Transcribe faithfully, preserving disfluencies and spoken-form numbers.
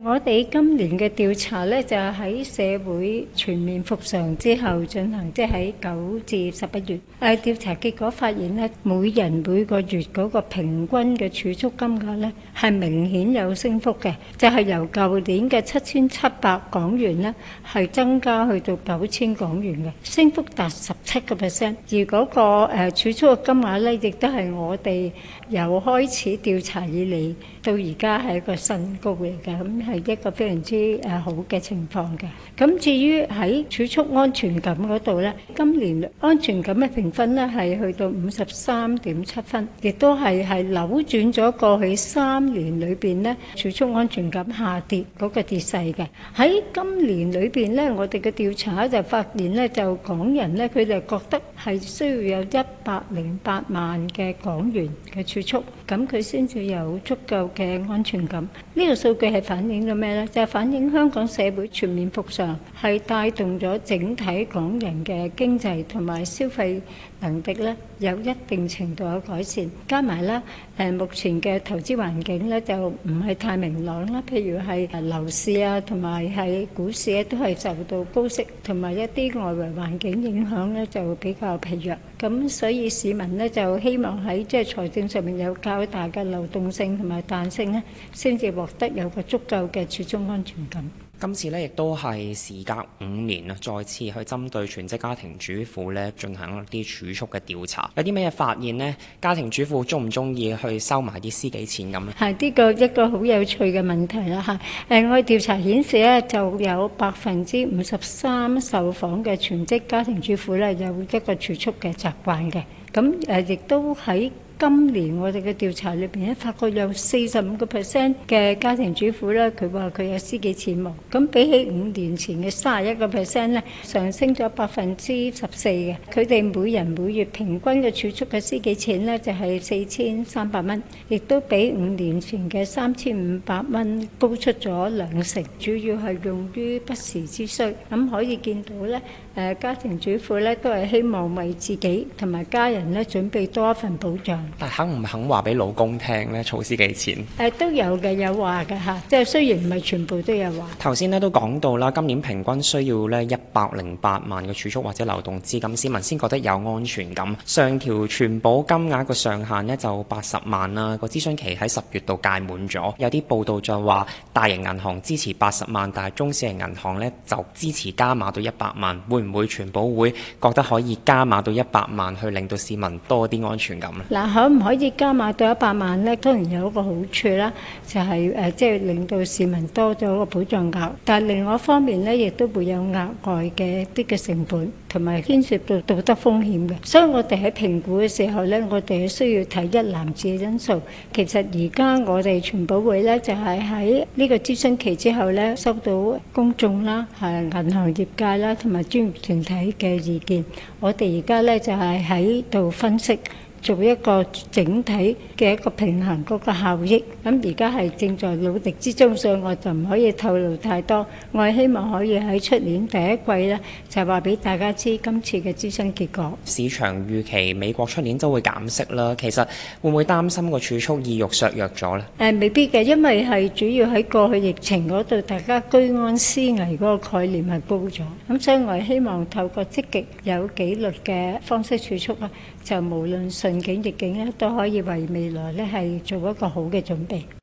我哋今年嘅調查咧就係喺社會全面復常之後進行，即係喺九至十一月。誒調查結果發現咧，每人每個月嗰個平均嘅儲蓄金額咧係明顯有升幅嘅，就係由舊年嘅七千七百港元咧係增加去到九千港元嘅，升幅達十七個 percent。而嗰個誒儲蓄嘅金額咧，亦都係我哋由開始調查以嚟到而家係一個新高嚟嘅，咁係一個非常之誒好嘅情況嘅。咁至於喺儲蓄安全感嗰度咧，今年安全感嘅評分咧係去到五十三點七分，亦都係係扭轉咗過去三年裏邊咧儲蓄安全感下跌嗰個跌勢嘅。喺今年裏邊咧，我哋嘅調查就發現咧，就港人咧佢哋覺得係需要有一百零八萬嘅港元嘅儲蓄，咁佢先至有足夠嘅安全感。呢個數據係反映咗咩呢？就係反映香港社會全面復常係帶動咗整體港人嘅經濟同埋消費能力咧有一定程度嘅改善，加埋咧誒目前嘅投資環境咧就唔係太明朗啦。譬如係誒樓市啊，同埋係股市咧都係受到高息同埋一啲外圍環境影響咧，就比較疲弱。咁所以市民咧就希望喺即係財政上面有較大嘅流動性同埋彈性咧，先至獲得有個足夠嘅儲蓄安全感。 今次咧亦都係時隔五年啊，再次去針對全職家庭主婦咧進行一啲儲蓄嘅調查，有啲咩嘢發現呢？家庭主婦中唔中意去收埋啲私己錢咁咧？係呢個一個好有趣嘅問題啦嚇。誒，我哋調查顯示咧，就有百分之五十三受訪嘅全職家庭主婦咧有一個儲蓄嘅習慣嘅。咁誒，亦都喺今年我哋嘅調查裏邊咧，發覺有四十五個 percent 嘅家庭主婦咧，佢話佢有私己錢冇。咁比起五年前嘅三十一個 percent 咧，上升咗百分之十四嘅。佢哋每人每月平均嘅儲蓄嘅私己錢咧，就係四千三百蚊，亦都比五年前嘅三千五百蚊高出咗兩成。主要係用於不時之需。咁可以見到咧，誒家庭主婦咧都係希望為自己同埋家人咧準備多一份保障。 但肯唔肯話俾老公聽咧？儲私己錢誒都有嘅，有話嘅嚇，即係雖然唔係全部都有話。 頭先咧都講到啦，今年平均需要咧一百零八萬嘅儲蓄或者流動資金，市民先覺得有安全感。上調存保金額個上限呢就八十萬啦，個諮詢期喺十月度屆滿咗。有啲報道就話大型銀行支持八十萬，但係中小型銀行呢就支持加碼到一百萬。會唔會存保會覺得可以加碼到一百萬，去令到市民多啲安全感呢？ 嗱，可唔可以加碼到一百萬呢？當然有一個好處啦，就係誒即係令到市民多咗個保障額。但係另外一方面呢，亦都會有額外嘅啲嘅成本，同埋牽涉到道德風險嘅。所以我哋喺評估嘅時候呢，我哋係需要睇一籃子嘅因素。其實而家我哋存保會呢，就係喺呢個諮詢期之後呢，收到公眾啦、係銀行業界啦同埋專業團體嘅意見。我哋而家呢，就係喺度分析，做一個整體嘅一個平衡嗰個效益，咁而家係正在努力之中，所以我就唔可以透露太多。我係希望可以喺出年第一季咧，就話俾大家知今次嘅諮詢結果。 市場預期美國出年都會減息啦，其實會唔會擔心個儲蓄意欲削弱咗呢？ 誒，未必嘅，因為係主要喺過去疫情嗰度，大家居安思危嗰個概念係高咗，咁所以我係希望透過積極有紀律嘅方式儲蓄啊，就無論順境逆境咧，都可以為未來咧係做一個好嘅準備。